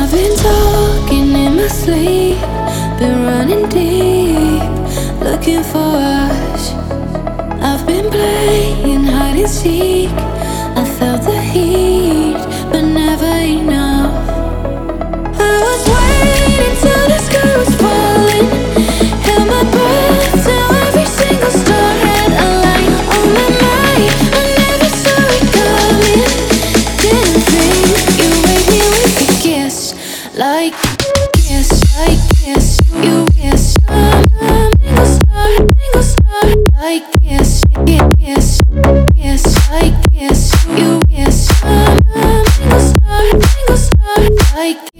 I've been talking in my sleep, been running deep, looking for us. I've been playing hide and seek. I felt the heat, but never enough. I was waiting till the sky was falling, held my breath till every single star had a light on my mind. I never saw it coming, didn't think you'd wake me with a kiss, like kiss, like kiss. You kiss, single star, like kiss, kiss, kiss, like kiss. You kiss, single star, like.